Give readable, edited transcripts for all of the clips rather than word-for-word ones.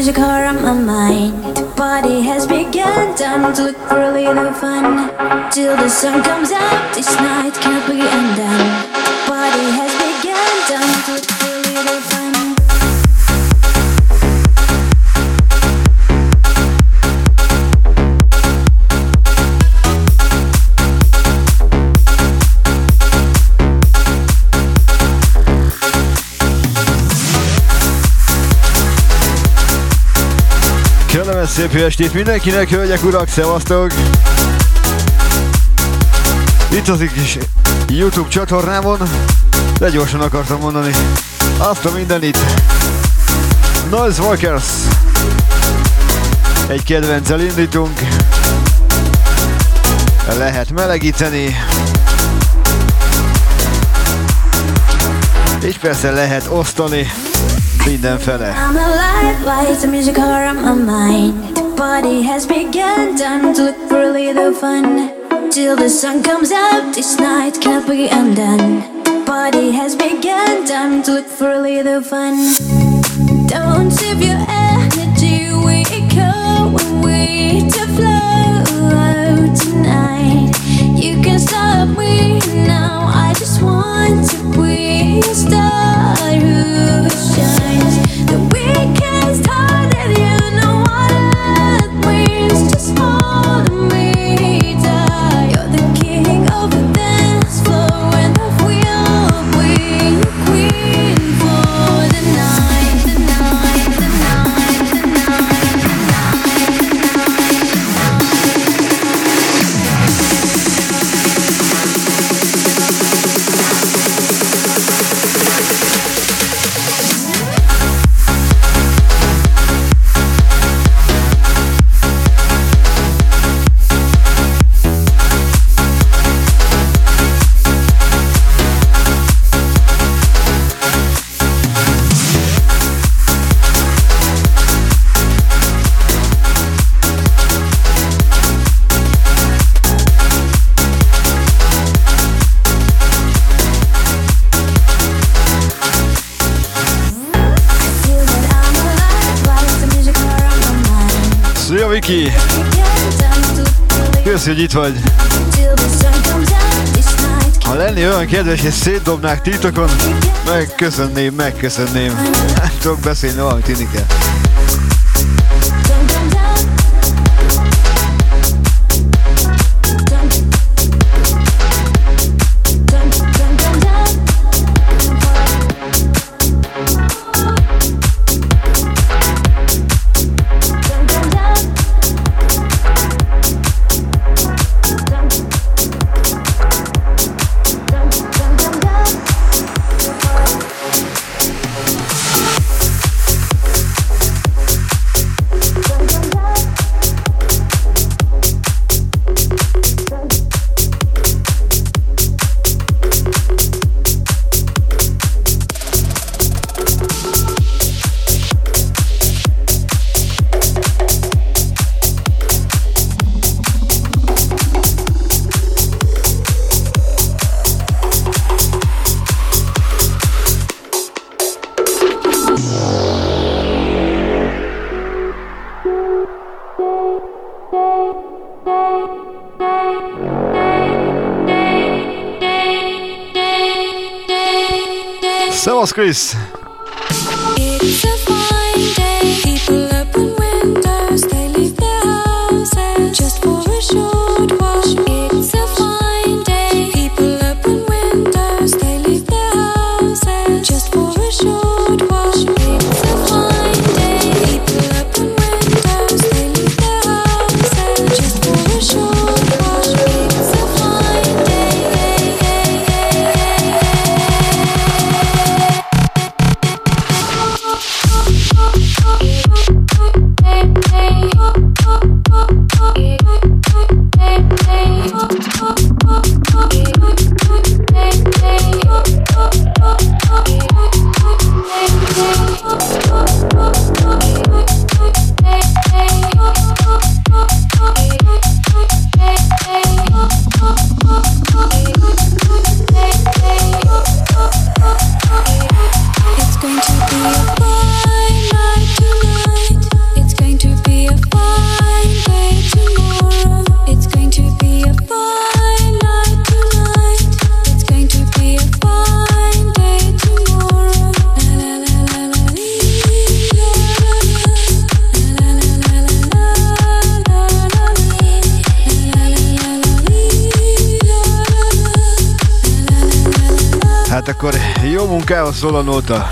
music are on my mind. The party has begun, time to look for a little fun. Till the sun comes out, this night can't be undone. The party has begun, time to look for a little fun. Kellemes szép jó estét mindenkinek, hölgyek, urak, szevasztok! Itt az kis YouTube csatornámon, de gyorsan akartam mondani azt a mindenit. Noisewalkers! Egy kedvenccel indítunk. Lehet melegíteni. És persze lehet osztani mindenfele. I'm alive, lights and music are on my mind. The party has begun, time to look for a little fun. Till the sun comes out, this night can't be undone. The party has begun, time to look for a little fun. Don't save your energy, we go away to flow tonight. You can stop me now, I just want to be a star who shines. The weekend started, you know what that means. Just hold me tight. You're the king of the dance floor, and I will be your queen for the night, the night, the night, the night, the night, the Szia Viki! Köszi, hogy itt vagy! Ha lenni olyan kedves és szétdobnák titokon, megköszönném. Nem tudok beszélni, valamit inni kell. Szevasz, Krisz! amikor jó munkához szól a nóta.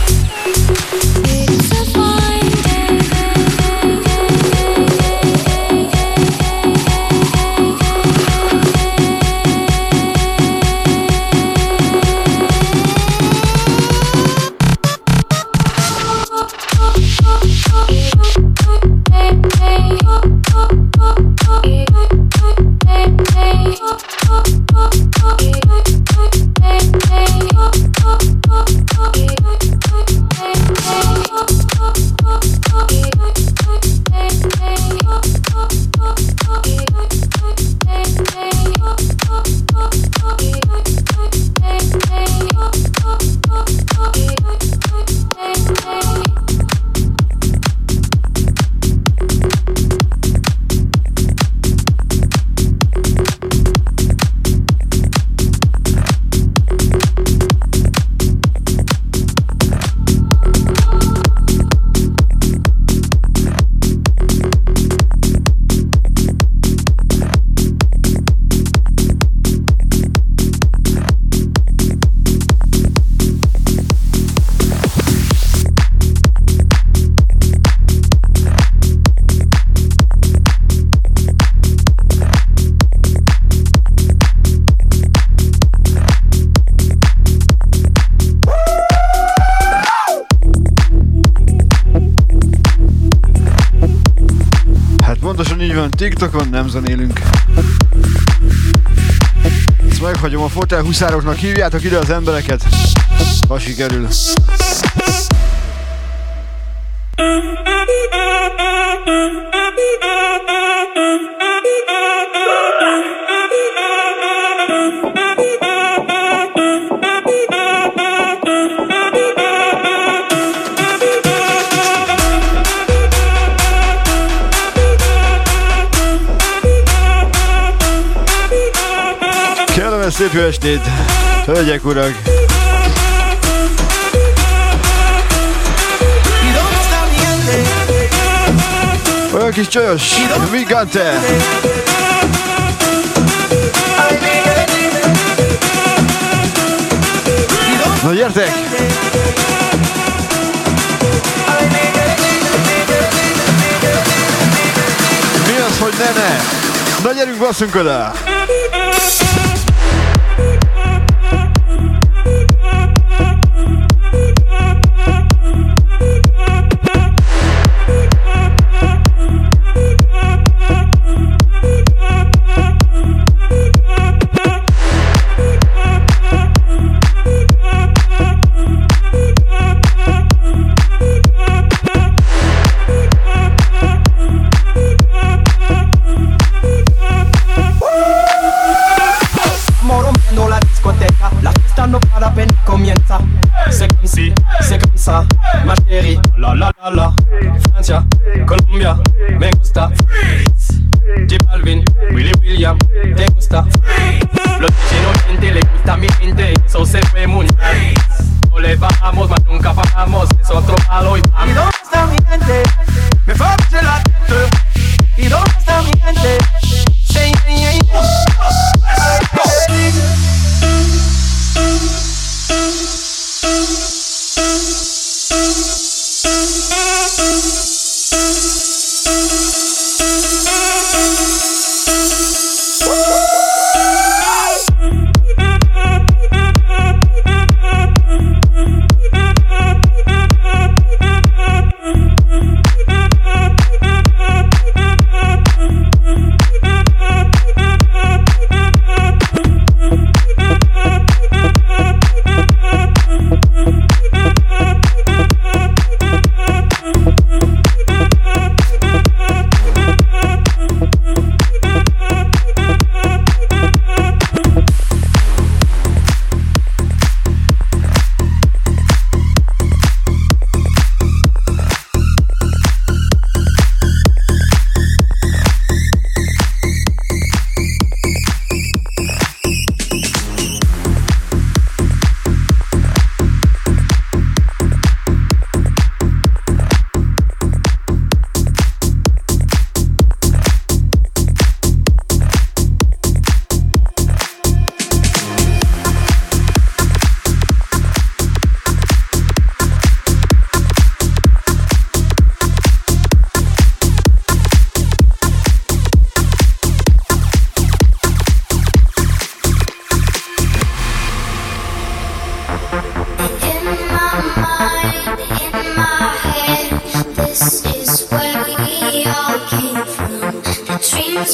TikTokon nem zenélünk. Ezt meghagyom, a fotel huszároknak hívjátok ide az embereket, ha sikerül. Szép jó estét, hölgyek, urak! Olyan kis csajos, Vigante! Na gyertek! Mi az, hogy ne? Na gyerünk, basszunk oda! Ma chérie, la la la la, Francia, Colombia, me gusta Freeze, J Balvin, Willy William, te gusta Freeze. Los inocentes le gusta mi gente, eso se fue muy bien. No le bajamos, mas nunca bajamos, es otro palo y vamos. ¿Y dónde está mi gente? Me favorece la tête. ¿Y dónde está mi gente? Say, say,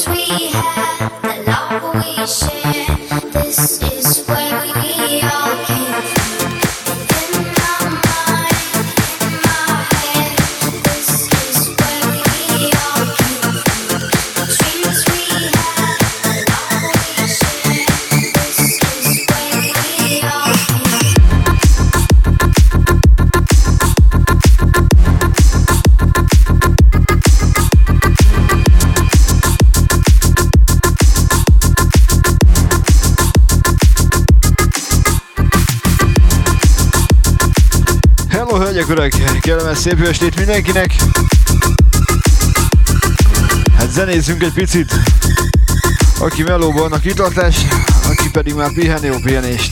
Urak, kellemes szép jó estét mindenkinek! Hát zenézzünk egy picit! Aki melóban, annak kitartás, aki pedig már pihen, jó pihenést!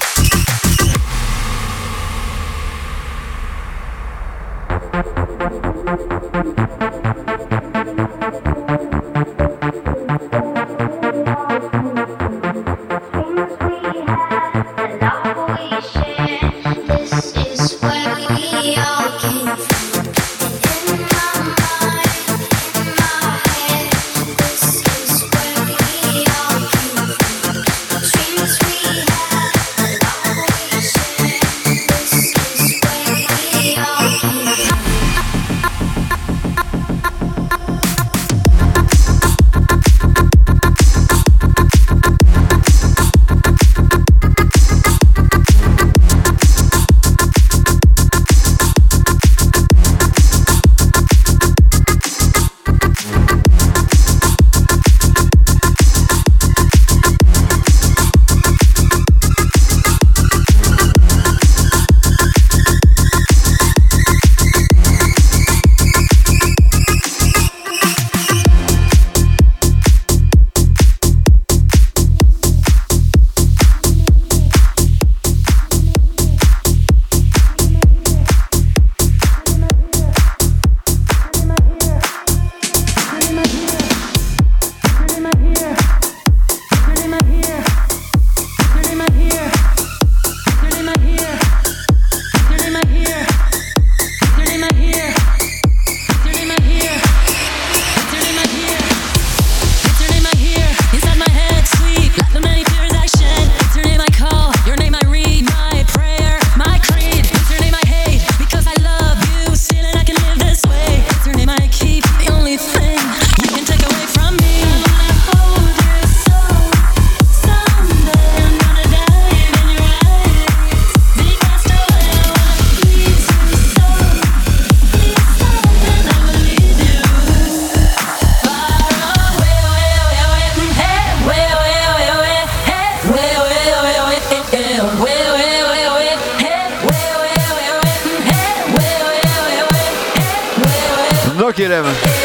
Kérem.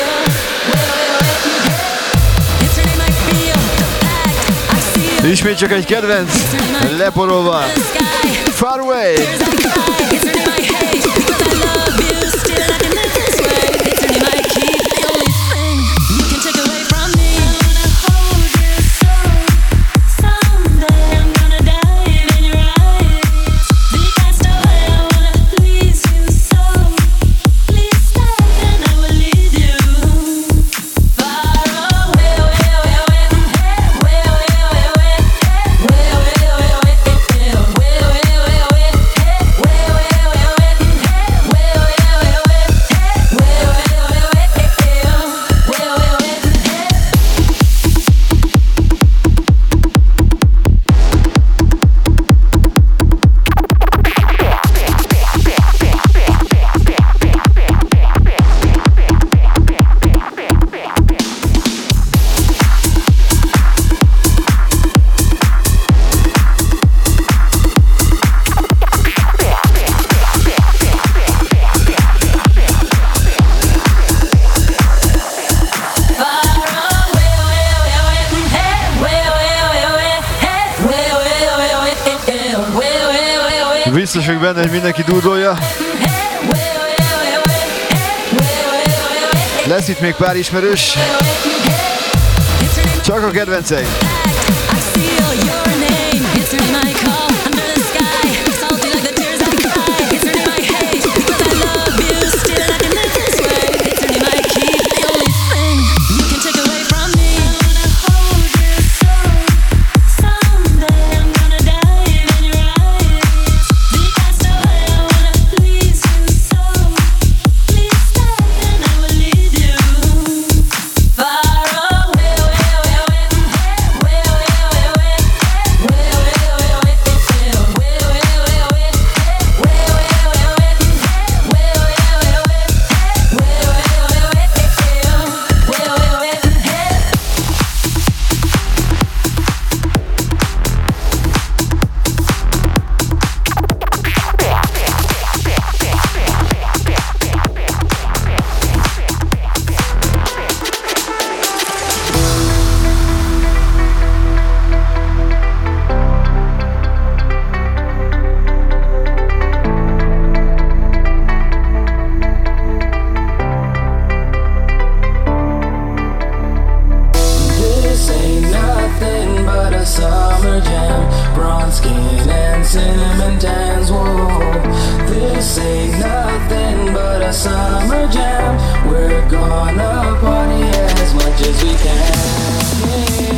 Ismét csak egy kedvenc, leporolva. Far Away. Biztos vagyok benne, hogy mindenki dúdolja. Lesz itt még pár ismerős. Csak a kedvenceim. Take away from me. summer jam. Bronze skin and cinnamon tans. Whoa, this ain't nothing but a summer jam. We're gonna party as much as we can.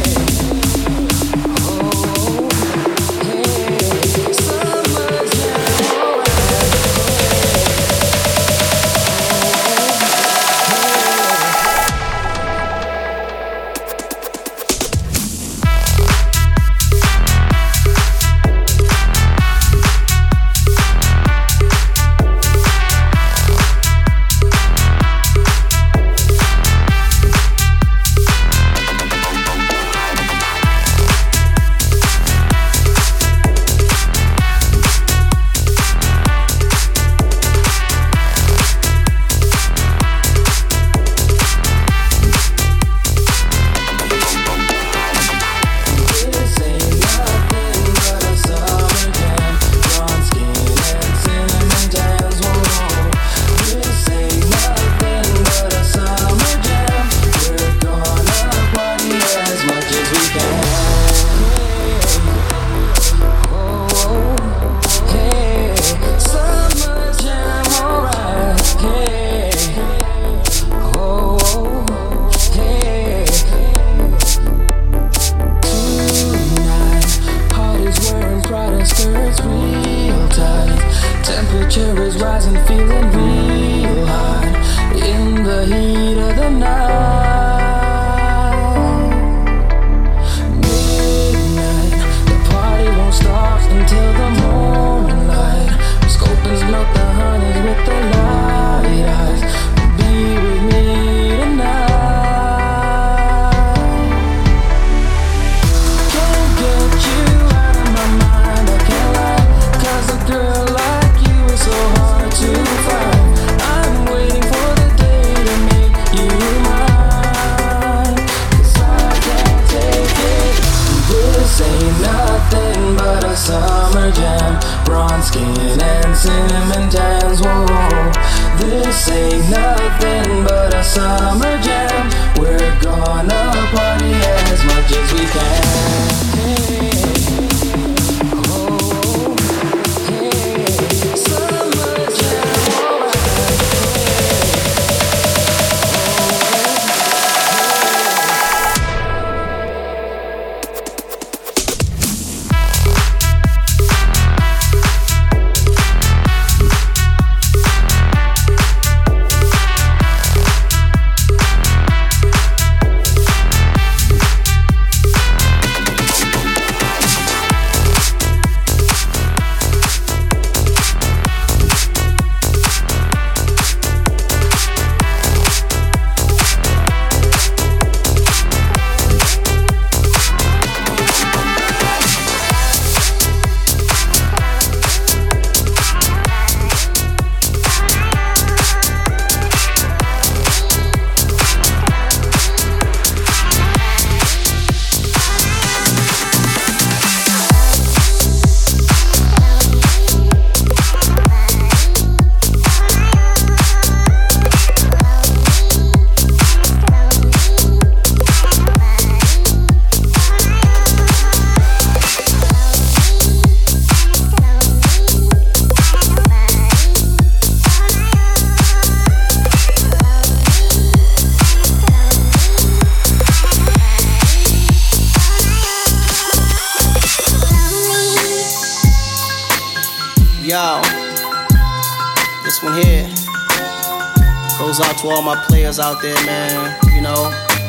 To all my players out there, man, you know,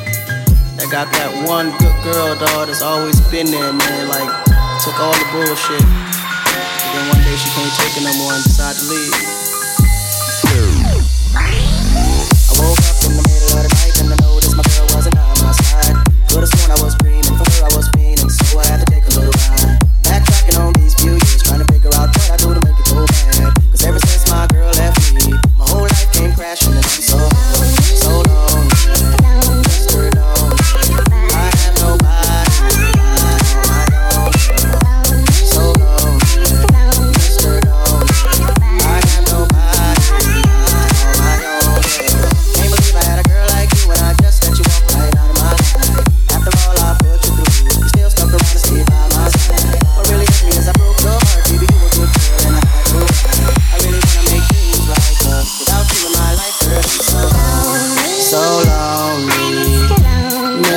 that got that one good girl, dog, that's always been there, man, like, took all the bullshit, but then one day she can't take it no more and decided to leave. I woke up in the middle of the night and I noticed my girl wasn't on my side. Could've sworn I was dreaming, for her I was fiending, so I had to take a little ride. Backtracking on these few years, trying to figure out what I do to make it go bad. Cause ever since my girl left me, my whole life came crashing and I'm so long, just her alone. I have nobody, I don't, so long, just her alone. I have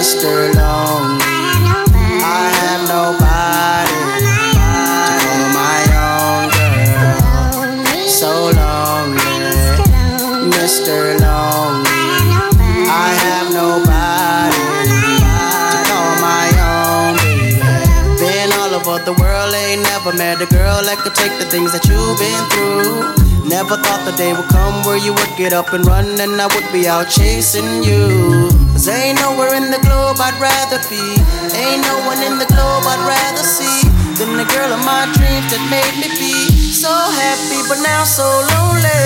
Mr. Lonely. I have nobody to call my own girl. So lonely, Mr. Lonely. I have nobody to call my own baby. Been all over the world, ain't never met a girl that could take the things that you've been through. Never thought the day would come where you would get up and run and I would be out chasing you. 'Cause ain't nowhere in the globe I'd rather be. Ain't no one in the globe I'd rather see than the girl of my dreams that made me be so happy but now so lonely.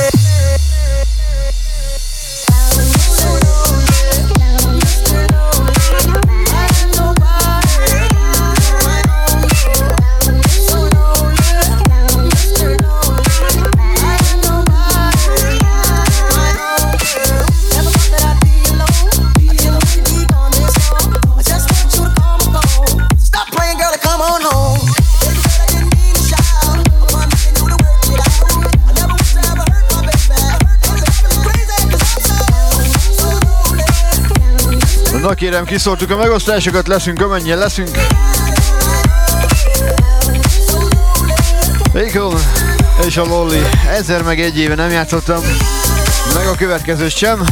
Na kérem, kiszórtuk a megosztásokat, leszünk amennyien leszünk. Akon és a Lolly. 1000 meg 1 éve nem játszottam, meg a következőt sem.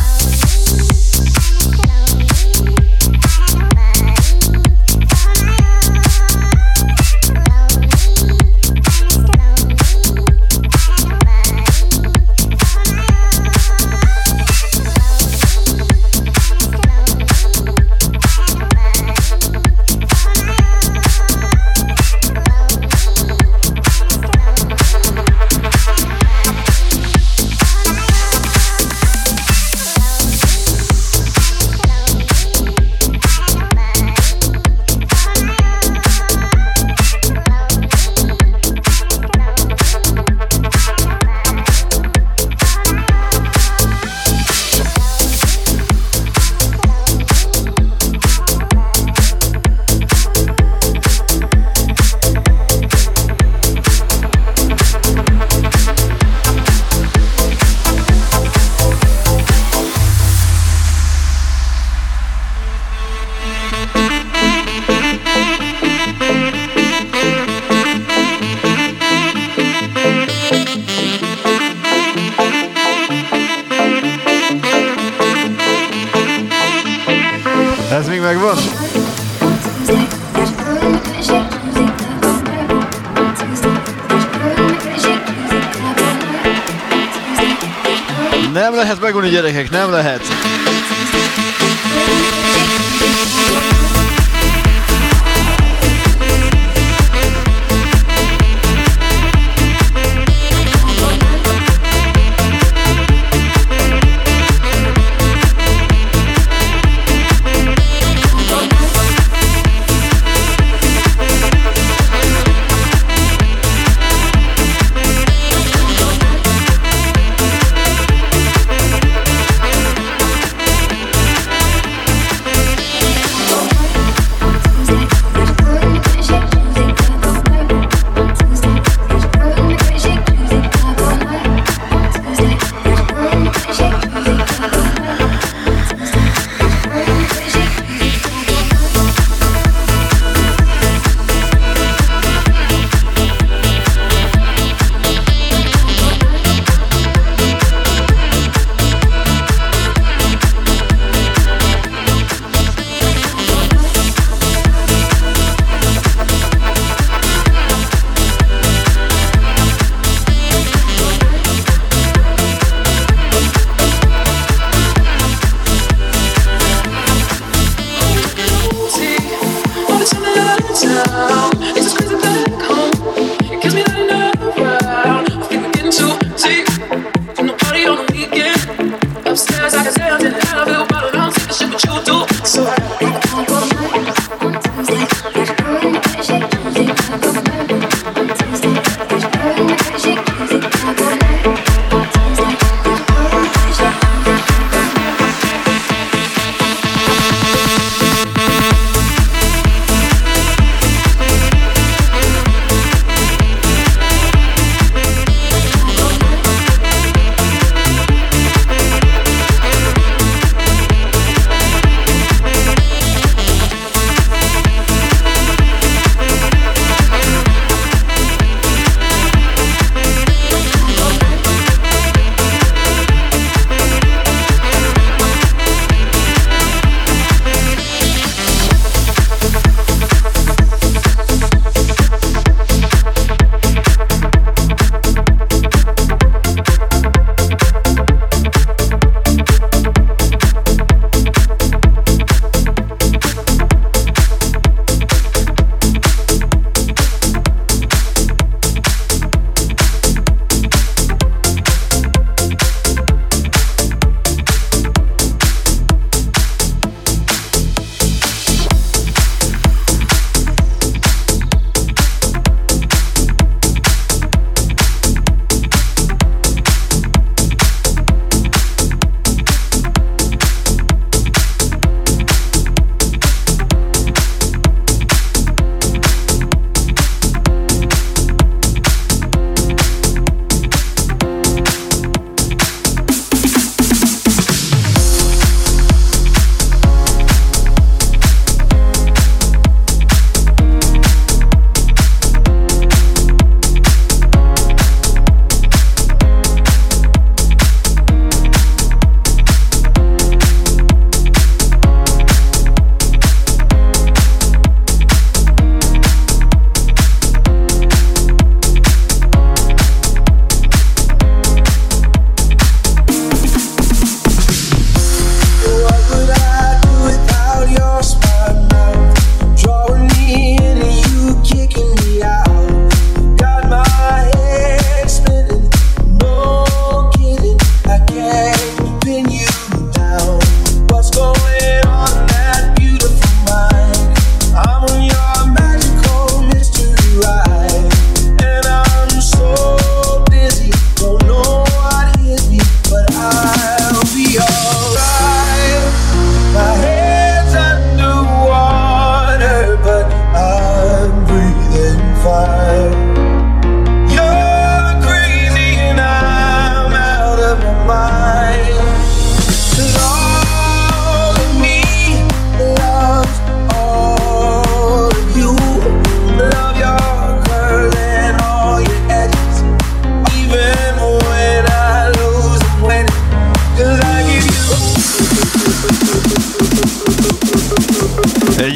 Ez még megvan? Nem lehet megunni, gyerekek, nem lehet.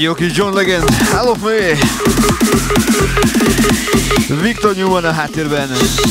jó kis John Legend, Hell of Me! Victor Newman a háttérben.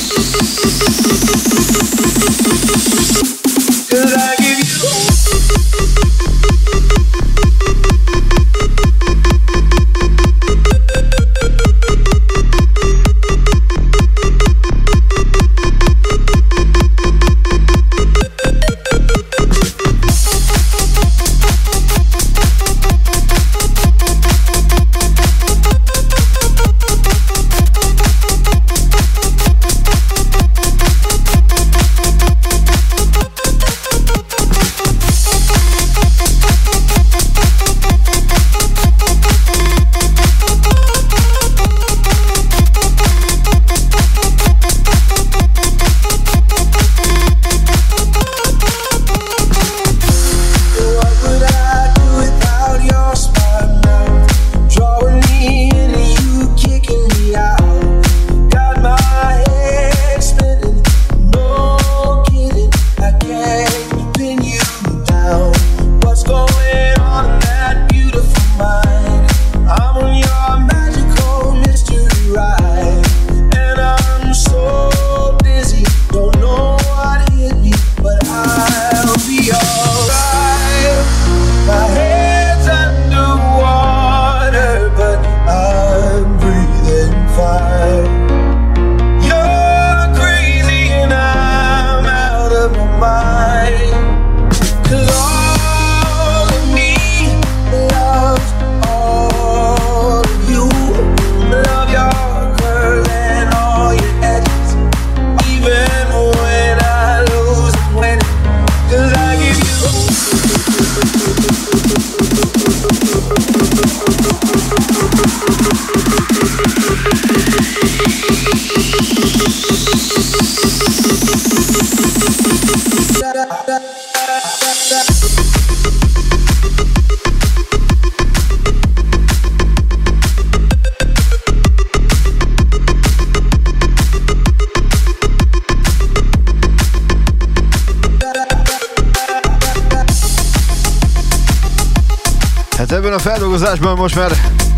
Hát ebben a feldolgozásban most már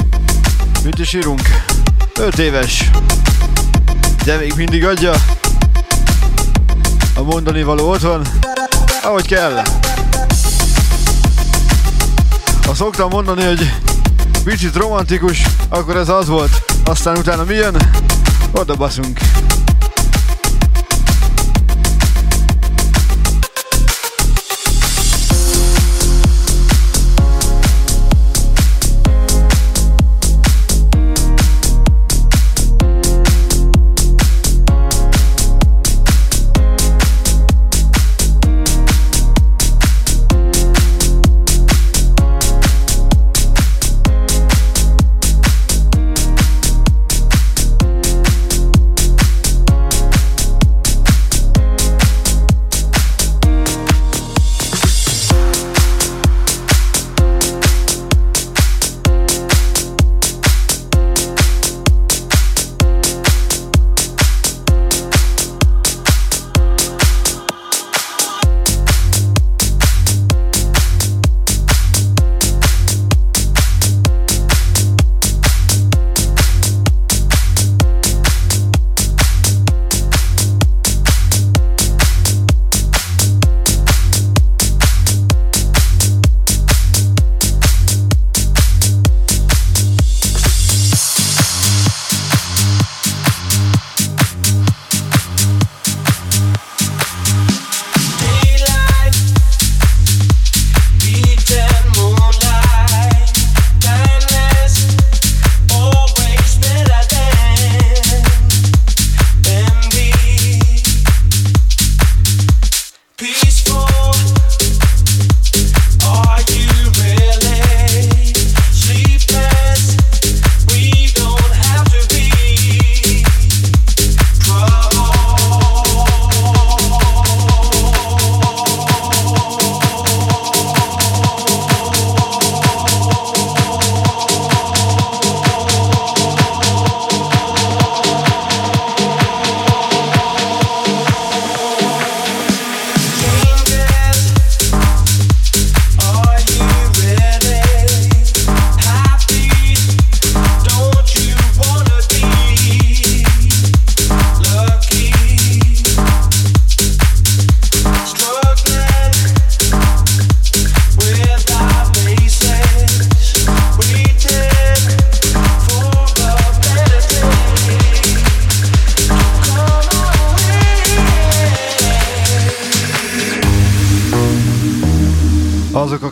mit is írunk? 5 éves, de még mindig adja a mondani való otthon, ahogy kell. Ha szoktam mondani, hogy picit romantikus, akkor ez az volt. Aztán utána mi jön? Oda baszunk.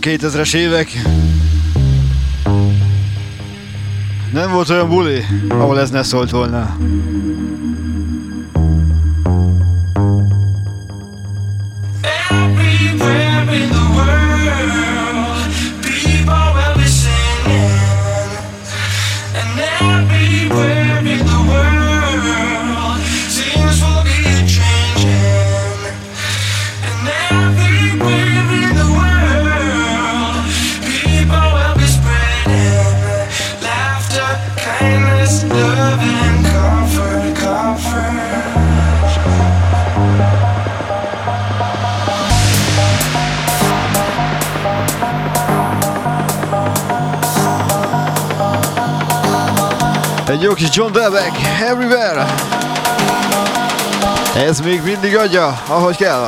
2000-es évek. Nem volt olyan buli, ahol ez ne szólt volna. Egy jó kis John Delbeck, Everywhere. Ez még mindig adja, ahogy kell.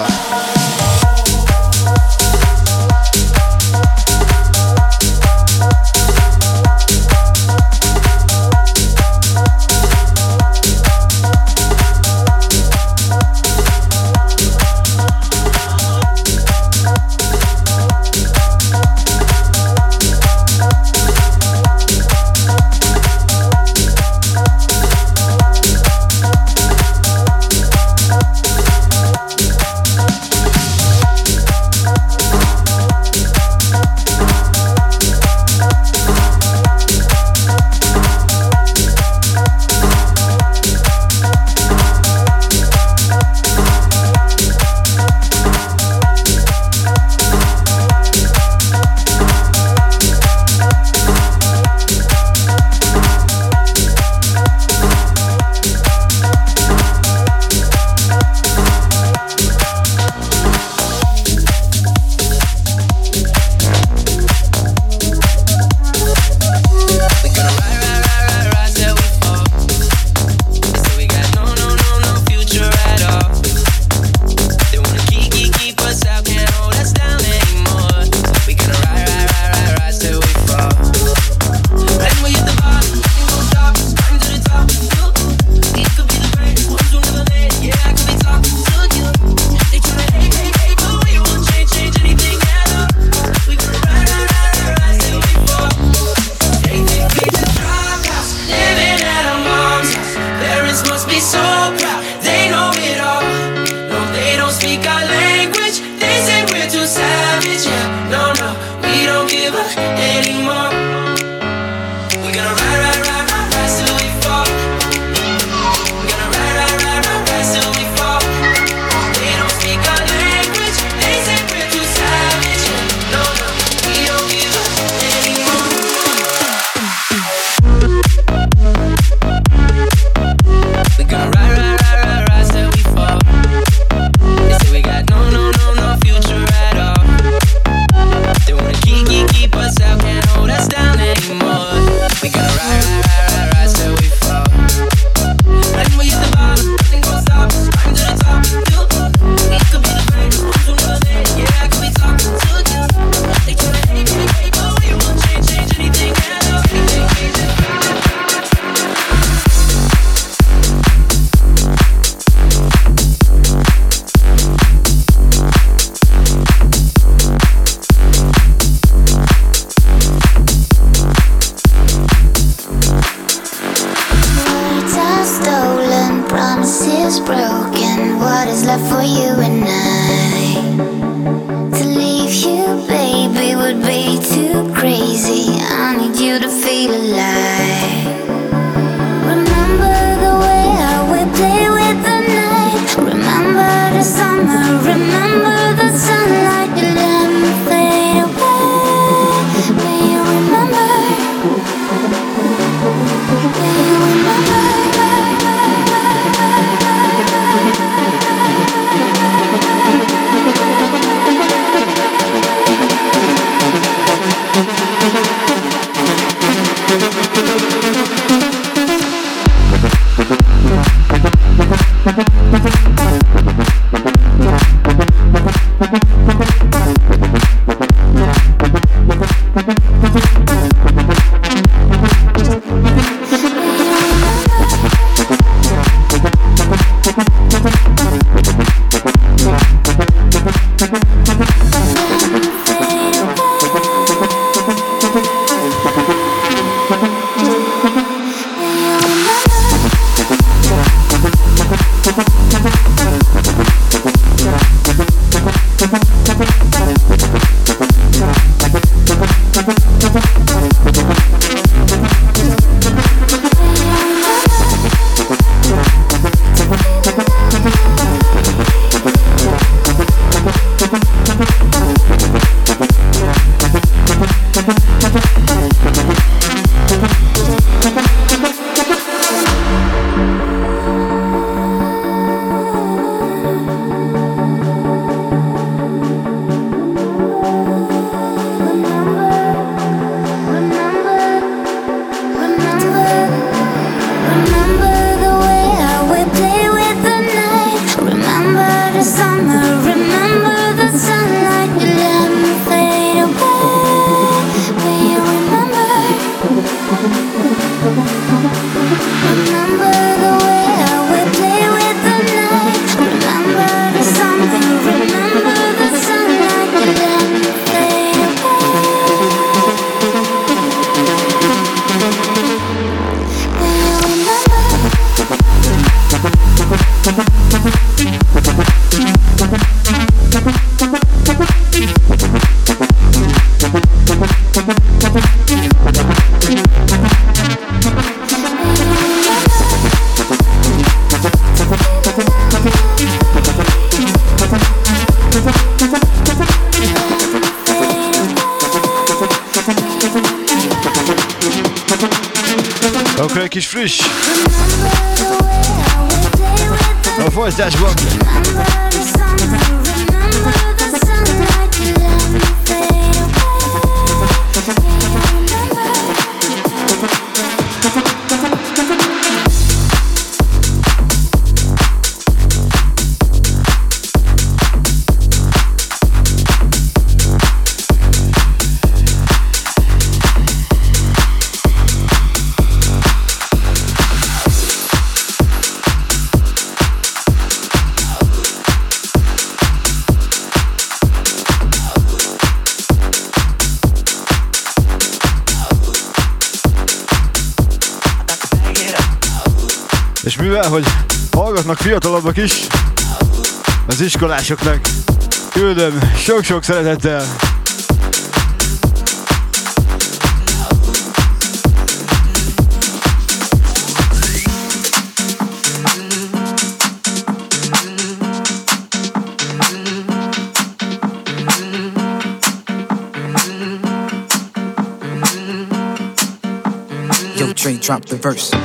Akkor egy kis friss. A folytatásban. És mivel, hogy hallgatnak fiatalabbak is, az iskolásoknak küldöm sok-sok szeretettel. Yo, Trey, drop the verse.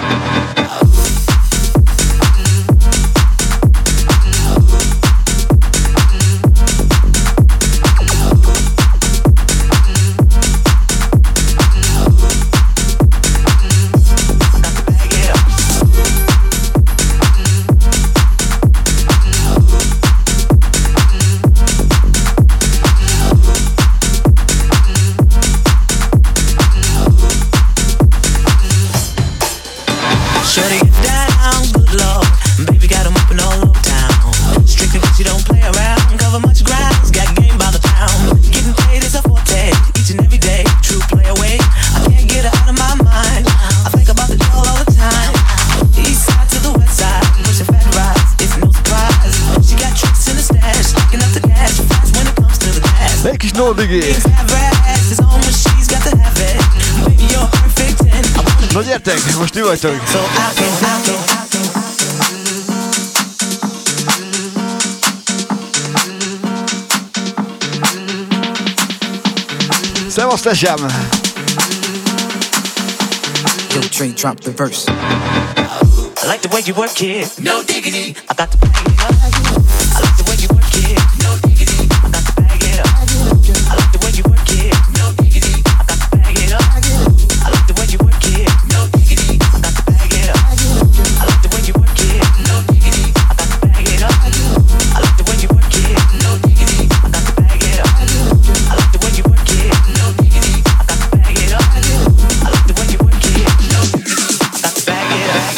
Na gyertek, most ti vagytok. Szevasz, tesem! Yo, Trey, drop the verse. I like the way you work it, no diggity. I got to bag it up. I like the way you work it, no diggity. I got to bag it up. I like the way you work it, no diggity. I got to bag it up. I like the way you work it, no diggity. I got to bag it up. I like the way you work it, no diggity. I got to bag it up. I like the way you work it, no diggity. I got to bag it up. I like the way you work it, no diggity. I got to bag it up. I like the way you work it, no diggity. I got to bag it up.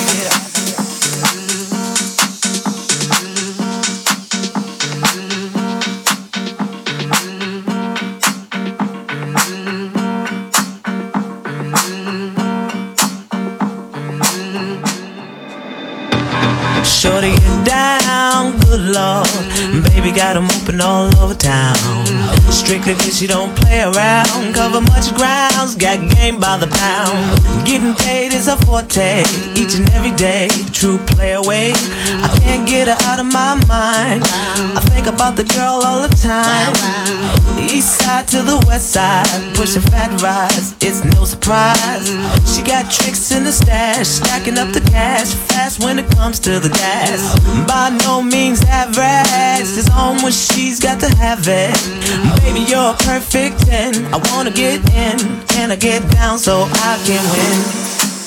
Shorty get down, good lord. Baby got them open all over town. Strictly cause she don't play around. Cover much grounds, got game by the pound. Getting paid is a forte, each and every day. True play away, I can't get her out of my mind. I think about the girl all the time. East side to the west side, pushing fat rides, it's no surprise. She got tricks in the stash, stacking up the cash fast when it comes to the gas. By no means average, it's on when she's got to have it. Baby, you're a perfect 10. I wanna get in, can I get down so I can win?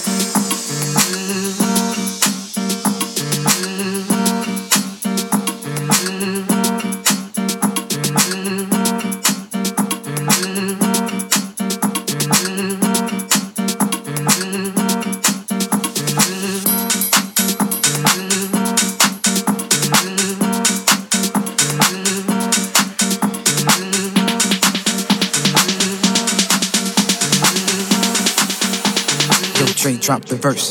Drop the verse.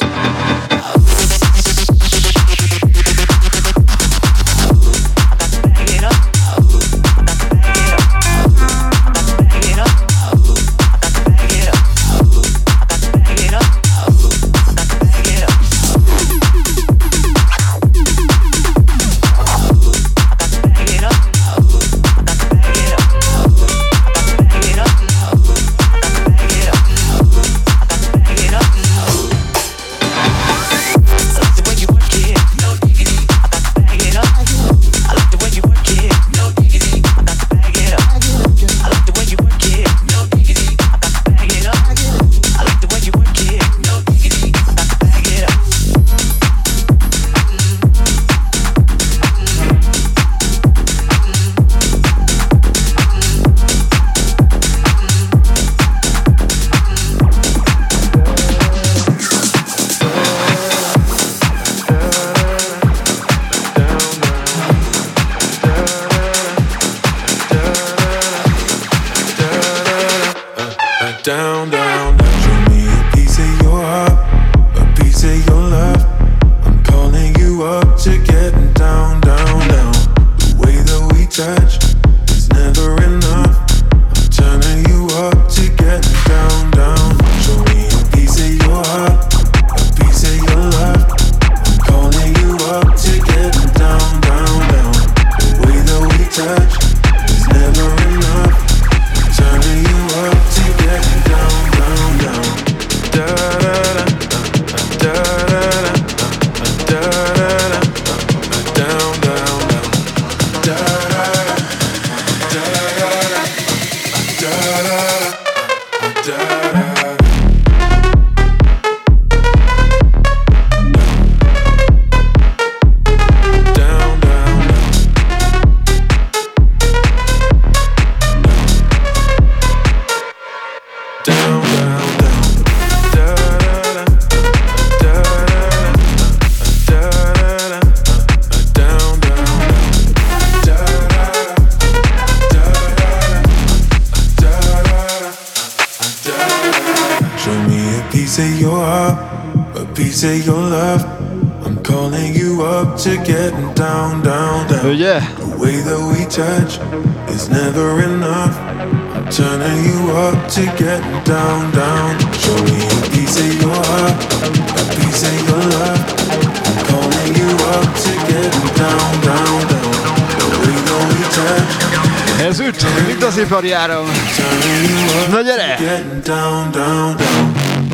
me a piece of your heart, a piece of your love. I'm calling you up to getting down, down, down. Oh yeah. The way that we touch is never enough. I'm turning you up to getting down, down. Show me a piece of your heart, a piece of your love. I'm calling you up to getting down, down, down. The way that we touch. Ez üt, mint az ipari áram. Na gyere! Getting down, down, down.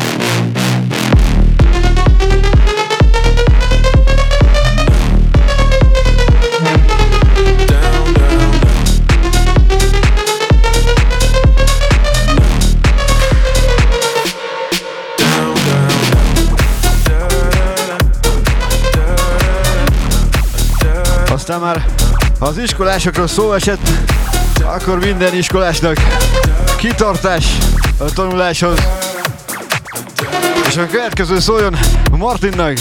Aztán már, ha az iskolásokról szó esett, akkor minden iskolásnak kitartás a tanuláshoz. És a következő szóljon Martinnak.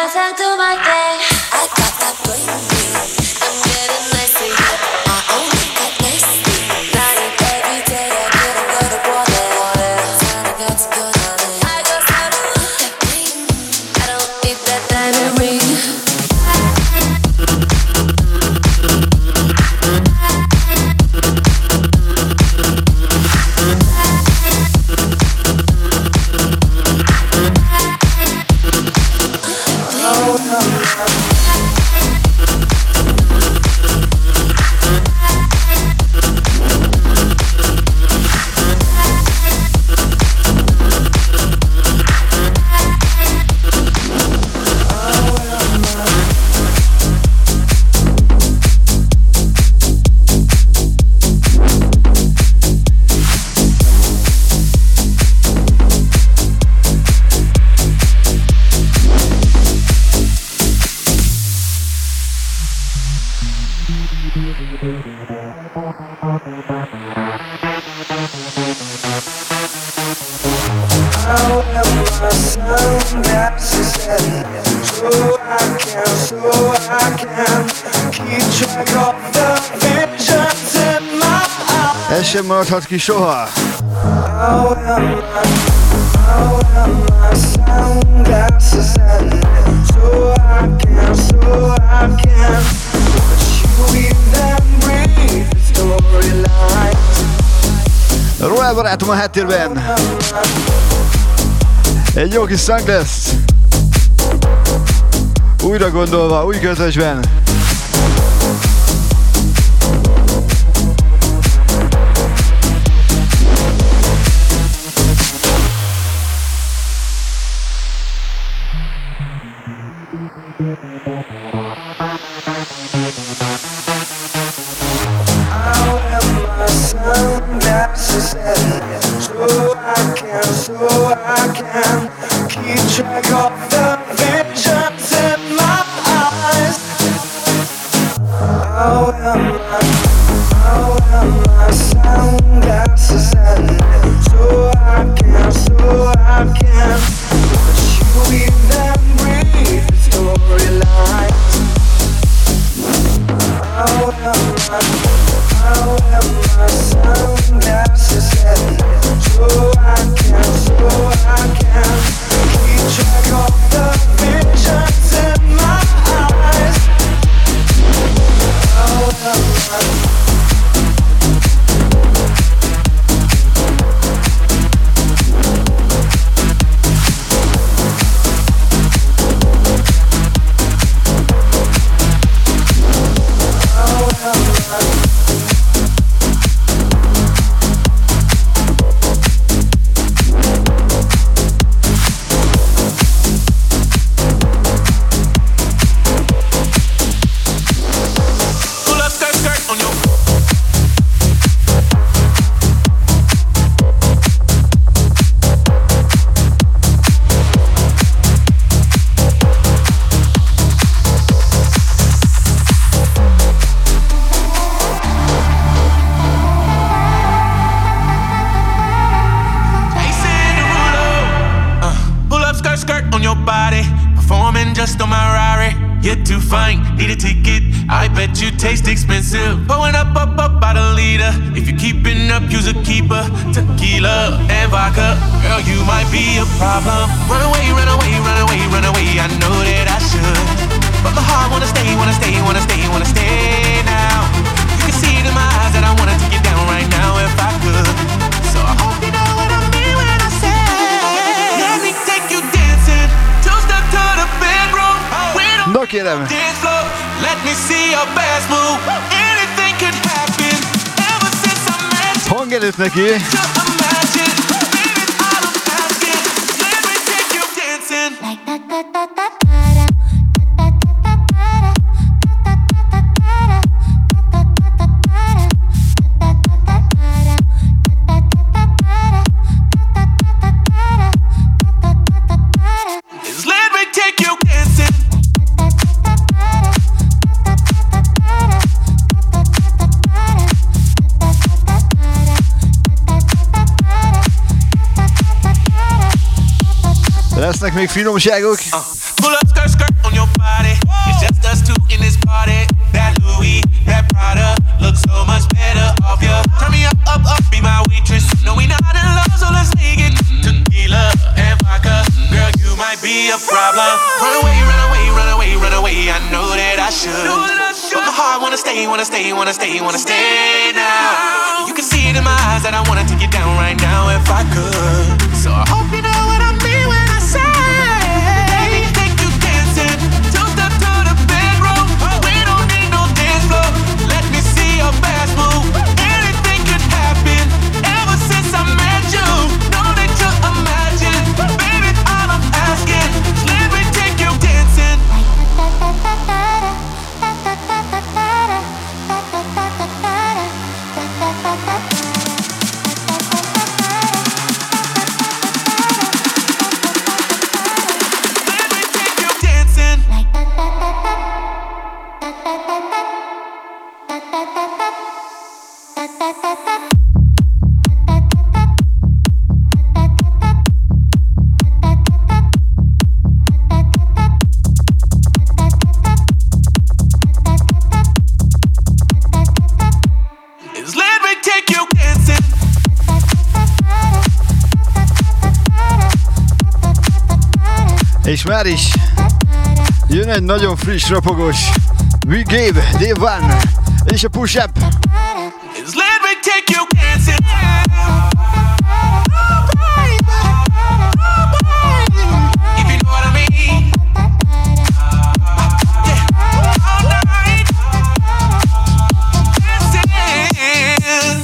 myself to my thing. I got that bling bling. I'm getting lazy. I only got lazy. Not every day I get a lot of water. Time I got to go on it. I just have that bling. I don't need that diamond ring. Ez sem maradhat ki soha. Royal barátom a háttérben. Egy jó kis Sunglass. Újra gondolva, új közösben. Hangerőt neki. Lesznek még finomságok. Pull up skirt skirt wanna stay, wanna stay, wanna stay, wanna stay now. You can see it in my eyes that I wanna take you down right now if I could. So I hope you know what I mean when I say, let me take you dancing, two-step to the bedroom. We don't need no dance floor. Let me see your best move. Anything could happen. Ever since I met you, know that you imagine, baby, all I'm asking is let me take you dancing. És már is jön egy nagyon friss, ropogós We Gave, Dave One és a Push Up. Let me take you dancing. If you know what I mean. Yeah. All night. Dancing.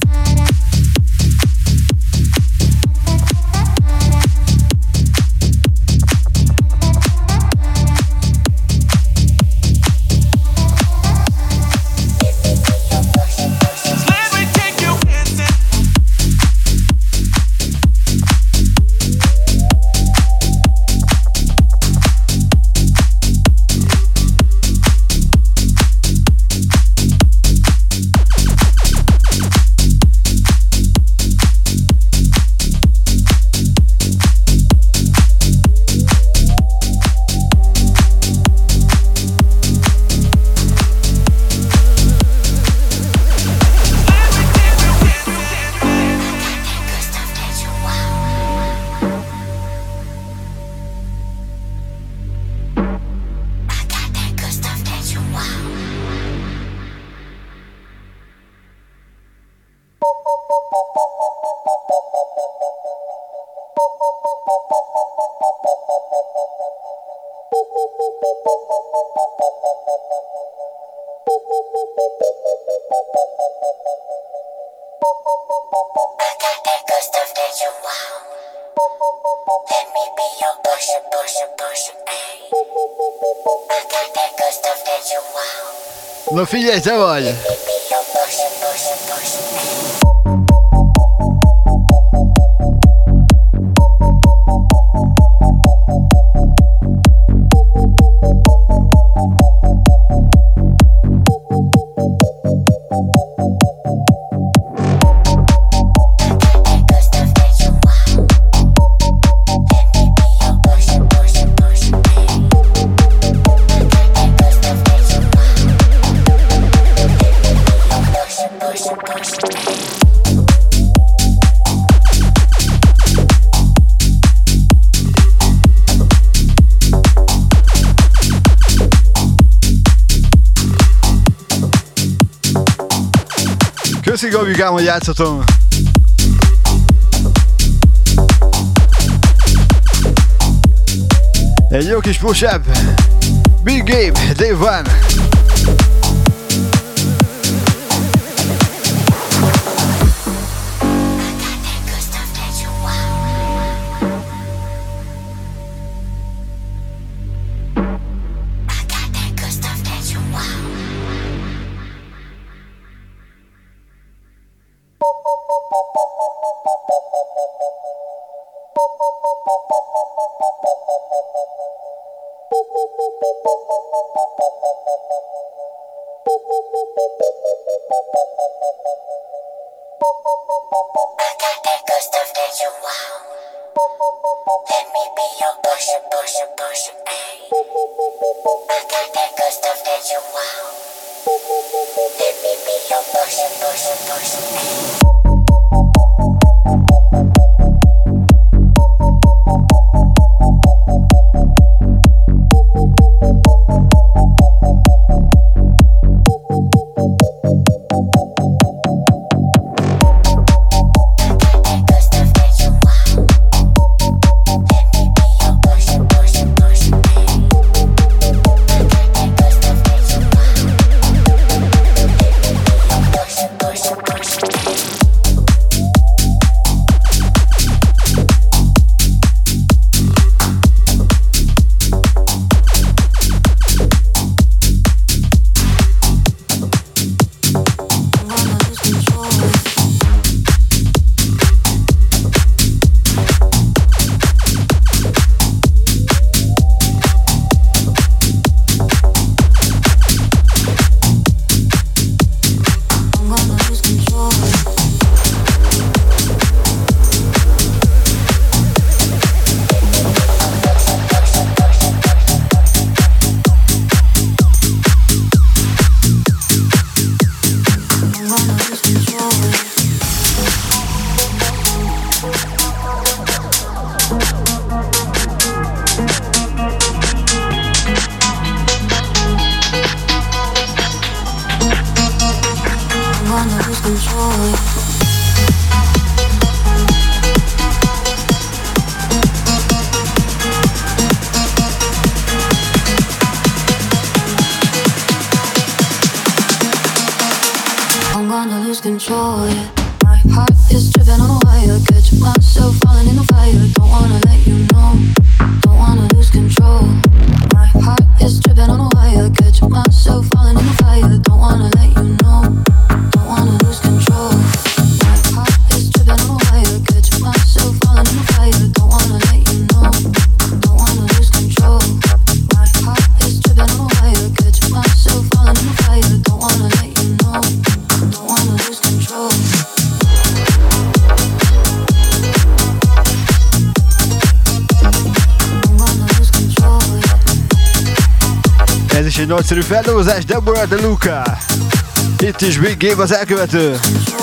Na figyelj, te vagy! Köszi Gabikám, hogy játszhatom. Egy jó kis push-up. Big Gabe, Dave One. Control, yeah. My heart is driven on a wire. Catch myself falling in the fire. Don't wanna let you know. Don't wanna lose control. My heart is driven on a wire. Catch myself falling in the fire. Don't wanna let you know. Don't wanna lose control. My heart is driven on a wire. Catch myself falling in the fire. Don't wanna let you know. Don't wanna lose control. My heart is driven on a wire. Catch myself falling in the fire. Don't wanna let you know. Don't wanna lose control. Ez is egy nagyszerű feldolgozás, Deborah De Luca. Itt is Big Game az elkövető.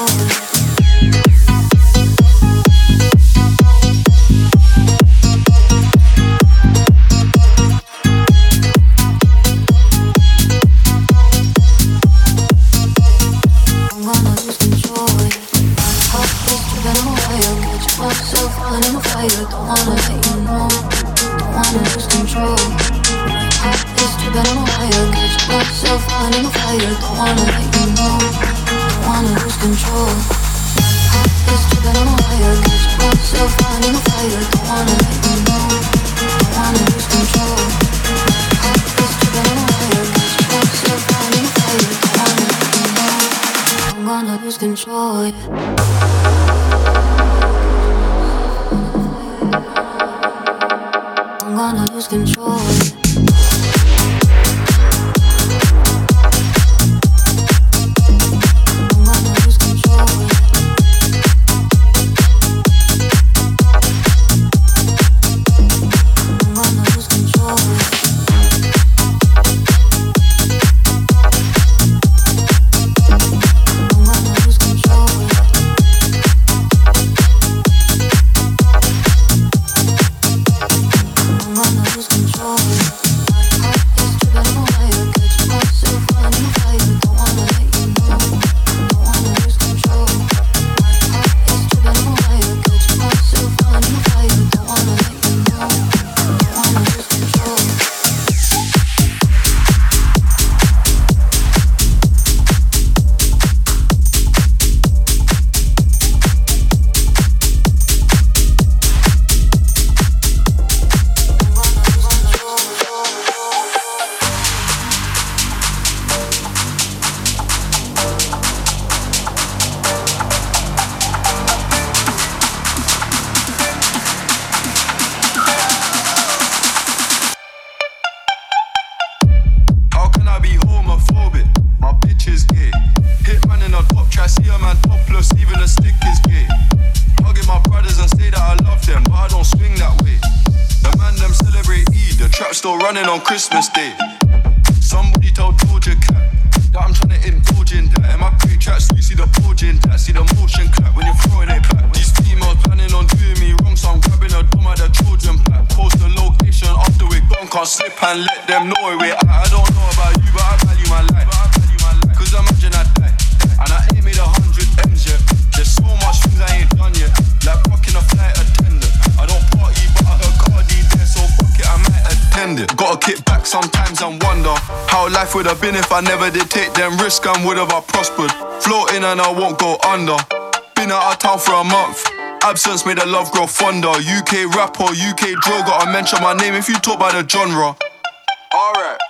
On Christmas Day, somebody told Doja Cat that I'm trying to indulge in that. In my pre-tracks, you see the bulge in that, see the motion clap when you're throwing it back. These females planning on doing me wrong, so I'm grabbing a dome at the children pack. Post the location after we're gone, can't slip and let them know where we're at. I don't know about you, but I value my life. Cause imagine I die, and I ain't made 100 M's yet. There's so much things I ain't done yet, like fucking a flight attendant. I don't party, but I heard Cardi there, so fuck it, I might attend it. Gotta kick back sometimes and wonder how life would have been if I never did take them risks and would have I prospered. Floating and I won't go under. Been out of town for a month. Absence made the love grow fonder. UK rap or UK drill, gotta mention my name if you talk about the genre. Alright.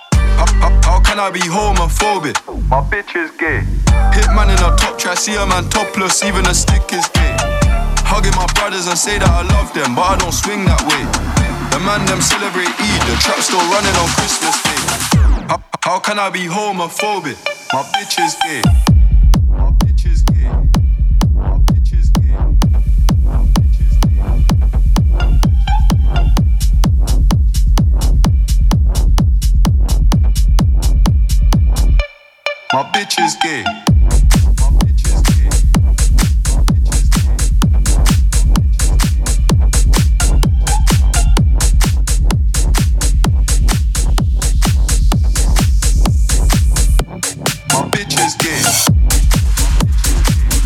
How can I be homophobic? My bitch is gay. Hitman in a top try, see a man topless, even a stick is gay. Hugging my brothers and say that I love them, but I don't swing that way. The man them celebrate Eid, the trap still running on Christmas Day. How can I be homophobic? My bitch is gay. My bitch is gay. My bitch is gay. My bitch is gay. My bitch is gay. My bitch is gay.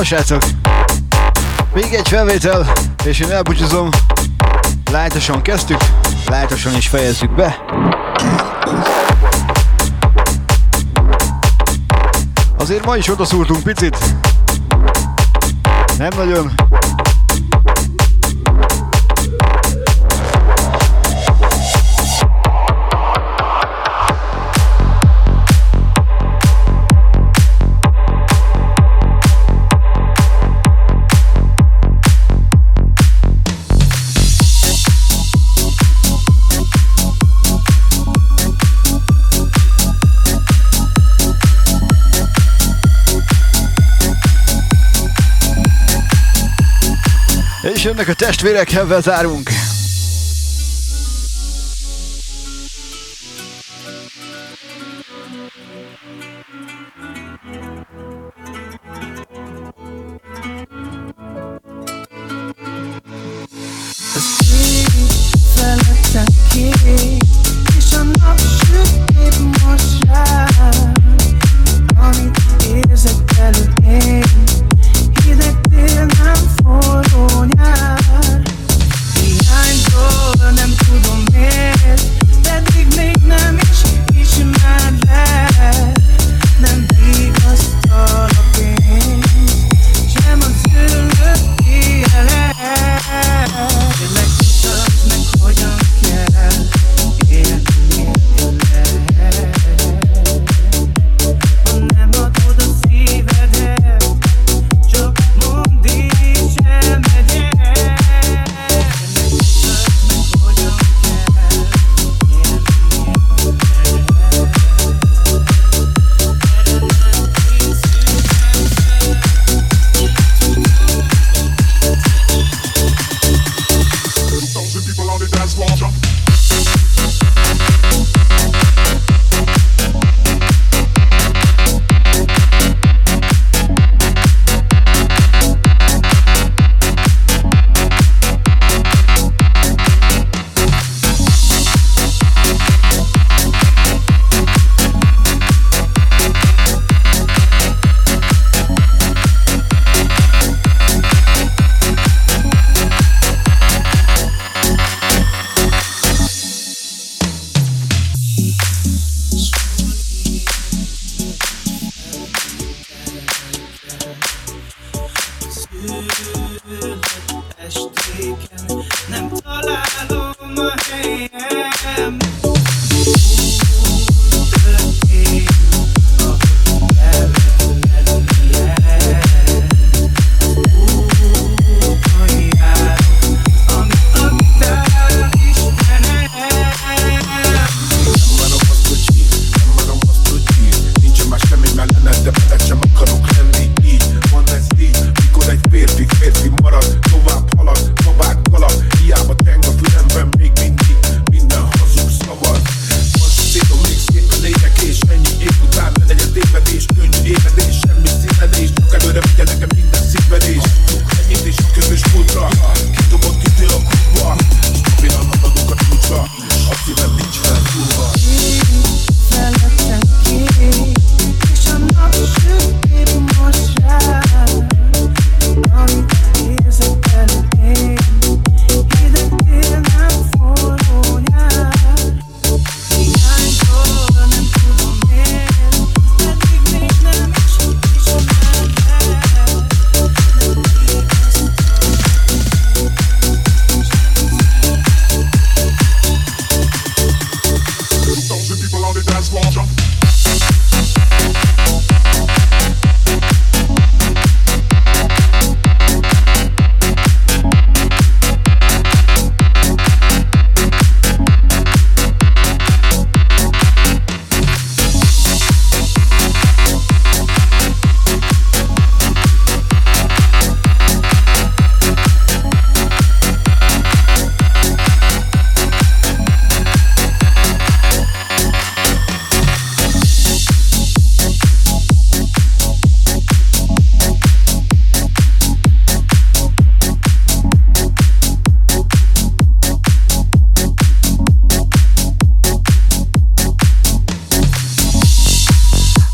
Na srácok, még egy felvétel, és én elbúcsúzom. Lájtosan kezdtük, lájtosan is fejezzük be. Azért ma is odaszúrtunk picit. Nem nagyon. És jönnek a testvérek, ebben zárunk. És a nap süt épp most rám, amit érzek belül én. Hideg tél, nem forró nyár. Hiánytól nem tudom miért, pedig még nem is ismerlek. Nem vigasztal a pénz, sem az ülök élet. Kérlek, mutasd meg, hogyan kell élni nélküled. Ha nem adod a szívedet, csak mondd is elmegyek. Mutasd meg, hogyan kell élni estéken, nem találom a helyem. Történt, ahogy kellett lennie. Úton járok, amit adtál Istenem. Nem várom azt, hogy hív, nem várom azt, hogy hív. Nincsen más semmi mellene, de veled sem akarok lenni így. Van ez így, mikor egy férfi marad, tovább halad, tovább galad. Hiába teng a fülemben még mindig minden hazug szav.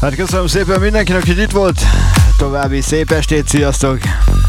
Hát köszönöm szépen mindenkinek, hogy itt volt. További szép estét, sziasztok!